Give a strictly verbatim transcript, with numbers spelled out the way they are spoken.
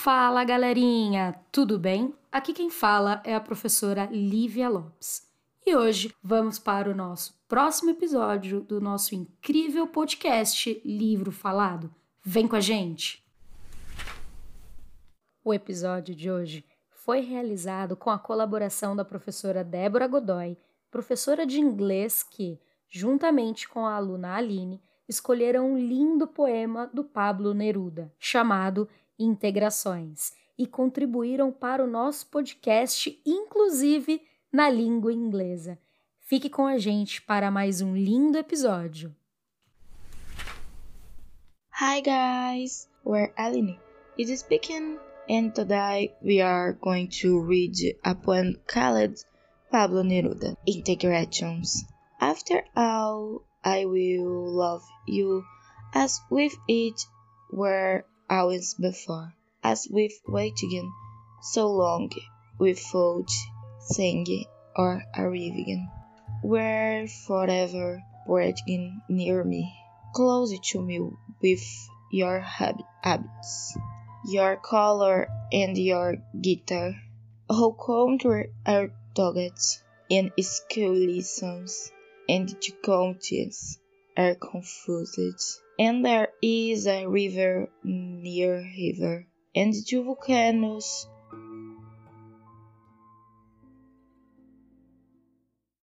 Fala, galerinha! Tudo bem? Aqui quem fala é a professora Lívia Lopes. E hoje vamos para o nosso próximo episódio do nosso incrível podcast Livro Falado. Vem com a gente! O episódio de hoje foi realizado com a colaboração da professora Débora Godoy, professora de inglês que, juntamente com a aluna Aline, escolheram um lindo poema do Pablo Neruda, chamado Integrações, e contribuíram para o nosso podcast, inclusive na língua inglesa. Fique com a gente para mais um lindo episódio. Hi guys, we're Aline. It is speaking, and today we are going to read a poem called Pablo Neruda, Integrations. After all, I will love you as with it were always before, as with waiting so long without saying or arriving, were forever breathing near me, close to me with your habits, your color and your guitar. How country are dogged in school lessons, and the counties are confused, and there is a river near river, and two volcanoes